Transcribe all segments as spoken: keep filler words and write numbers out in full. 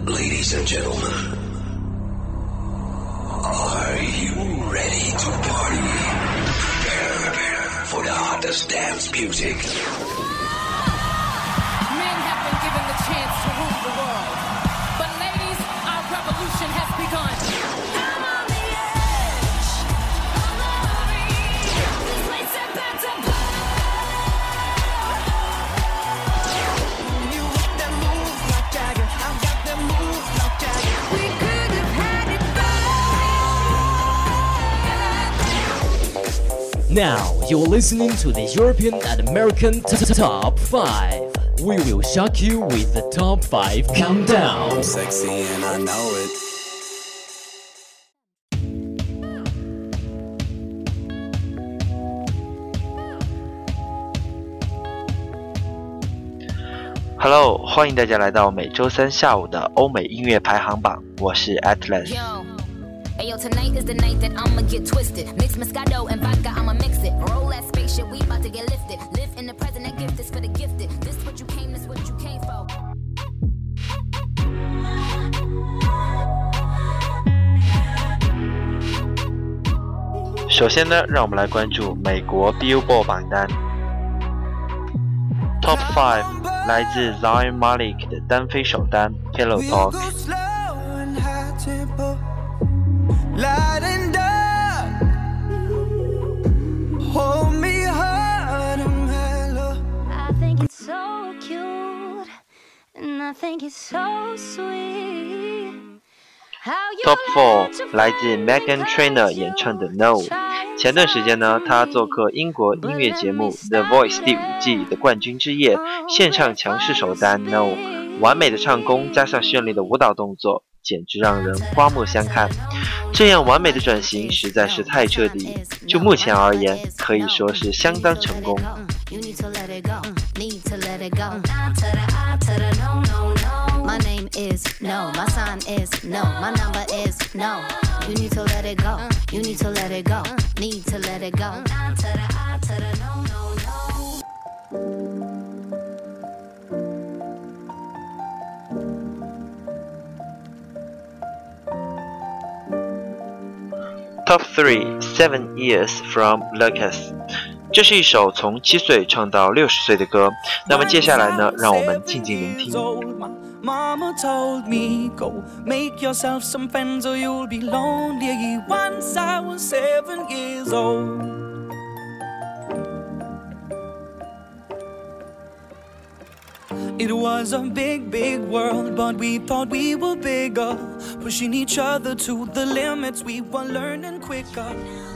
Ladies and gentlemen, are you ready to party? Prepare for the hottest dance music. Men have been given the chance to rule the world. But ladies, our revolution has begun. I'm on the edge. Follow me. This place is about to blow. You got that move like Jagger. I've got that move like Jagger. We could have had it better. Now you're listening to the European and American t- Top five. We will shock you with the Top five Countdown. I'm sexy and I know it. Hello， 欢迎大家来到每周三下午的欧美音乐排行榜，我是 Atlas。Ayo, tonight is the night that I'ma get twisted. Mix Moscato and vodka, I'ma mix it. Roll that spaceship, we about to get lifted. Live in the present, that gift is for the gifted. This what you came, this what you came for. 首先呢，让我们来关注美国 Billboard 榜单。Top five 来自 Zayn Malik 的单飞首单 Pillow Talk。Light and dark, hold me hard and mellow. I think it's so cute, and I think it's so sweet. Top four 来自 Meghan Trainor 演唱的 No。前段时间呢，他做客英国音乐节目 The Voice 第五季的冠军之夜，献唱强势首单 No， 完美的唱功加上绚丽的舞蹈动作。简直让人刮目相看，这样完美的转型实在是太彻底，就目前而言可以说是相当成功。My name is no, my sign is no, my number is no. You need to let it go, you need to let it go, need to let it go. To the I, to the no, no, no.Top three, Seven Years from Lucas。 这是一首从七岁唱到六十岁的歌。那么接下来呢，让我们静静聆听。Mama told me go make yourself some friends or you'll be lonely. Once I was seven years old. It was a big, big world, but we thought we were bigger, pushing each other to the limits. We were learning quicker.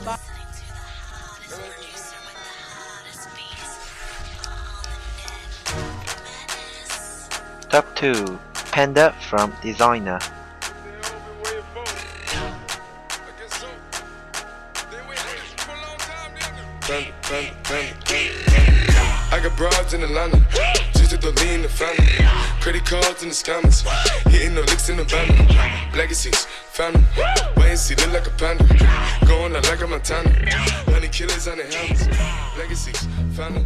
Top two, Panda from Designer。 I got broads in Atlanta, just to lean the family. Credit cards in the scammers, hitting no licks in the van. Legacies, family, wait and see, look like a panda. Going out like a Montana, honey killers on the helmets. Legacies, family.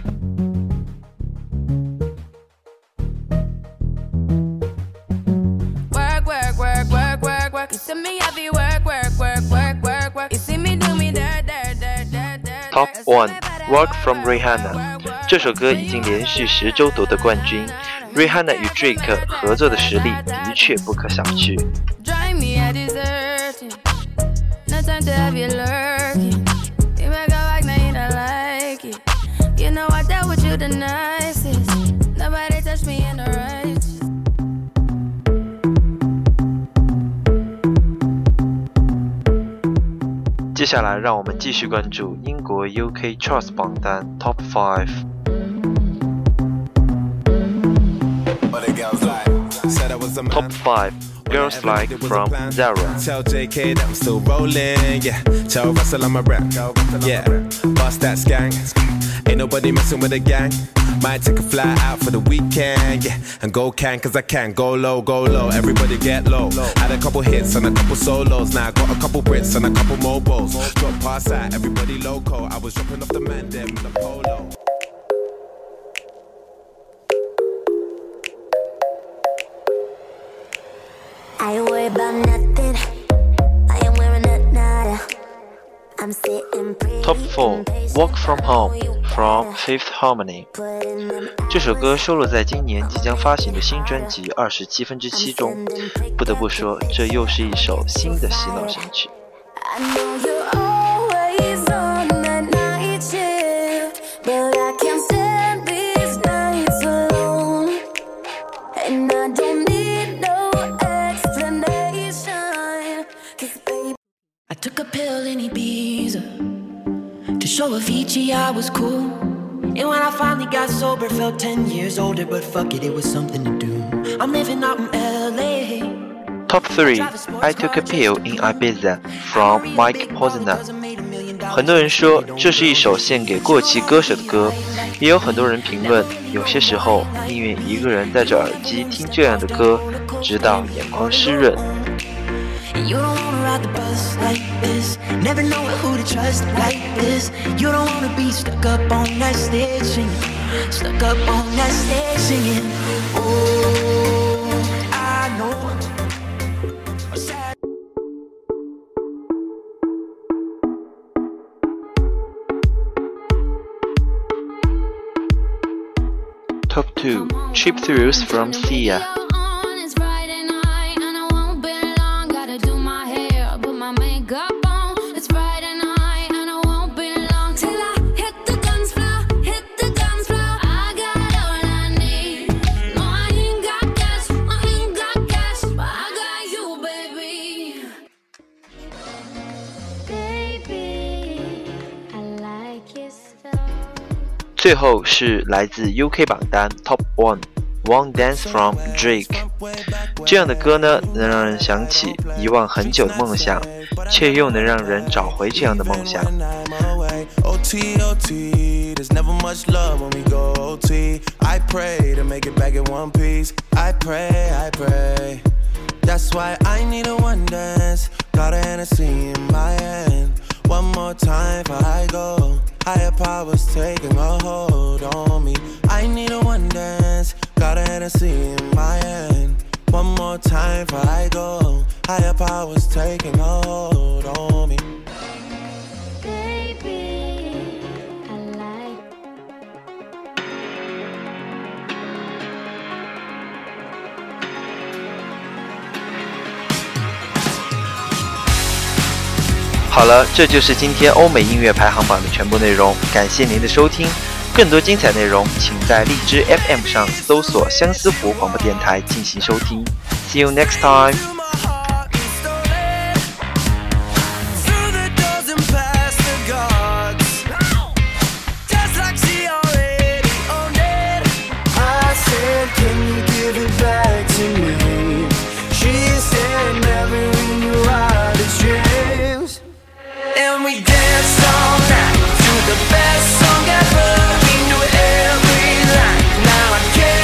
Work, work, work, work, work, work. You see me heavy work, work, work, work, work, work. You see me do me dirt, dirt, dirt, dirt, dirt. Top one, Work from Rihanna。 这首歌已经连续十周夺得冠军 ，Rihanna 与 Drake 合作的实力的确不可小觑。接下来，让我们继续关注英国 U K Charts 榜单 Top five。Top five, Girls Like from Zara. Tell J K that I'm still rolling, yeah. Tell Russell I'm a rap, yeah. Bust that skank, ain't nobody messing with a gang. Might take a fly out for the weekend, yeah. And go can, cause I can. Go low, go low, everybody get low. Had a couple hits and a couple solos. Now I got a couple Brits and a couple mobiles. Drop past out, everybody loco. I was dropping off the man them in a polo. worry about nothing. I am wearing a nada. I'm sitting pretty. Top four Walk From Home from Fifth Harmony。 这首歌收录在今年即将发行的新专辑《二十七分之七》中。不得不说，这又是一首新的洗脑神曲。 I know you're always on that night shift, but I can't stand these nights alone. And I don't need no explanation, 'cause baby I took a pill in Ibiza to show Avicii I was cool. And when I finally got sober, felt ten years older, but fuck it, it was something to do. I'm living out in L A. Top three I Took a Pill in Ibiza from Mike Posner。 很多人说这是一首献给过气歌手的歌，也有很多人评论，有些时候宁愿一个人戴着耳机听这样的歌，直到眼眶湿润。 You don't wanna ride the bus like this, never know who to trust like this. You don't wanna be stuck up on that stage singing, stuck up on that stage singing. Oh, I know. Top two Cheap Thrills from Sia。 最后是来自 U K 榜单 Top One One Dance from Drake。 这样的歌呢，能让人想起遗忘很久的梦想，却又能让人找回这样的梦想。 O T O T, there's never much love when we go O T. I pray to make it back in one piece. I pray, I pray. That's why I need a one dance. Got a Hennessy in my hand. One more time before I go. Higher powers taking a hold on me. I need a one dance. Got a Hennessy in my hand. One more time before I go. Higher powers taking a hold on me. Baby, 好了，这就是今天欧美音乐排行榜的全部内容，感谢您的收听。更多精彩内容，请在荔枝 F M 上搜索相思湖广播电台进行收听。See you next time. And we dance all night to the best song ever. We knew every line. Now I can't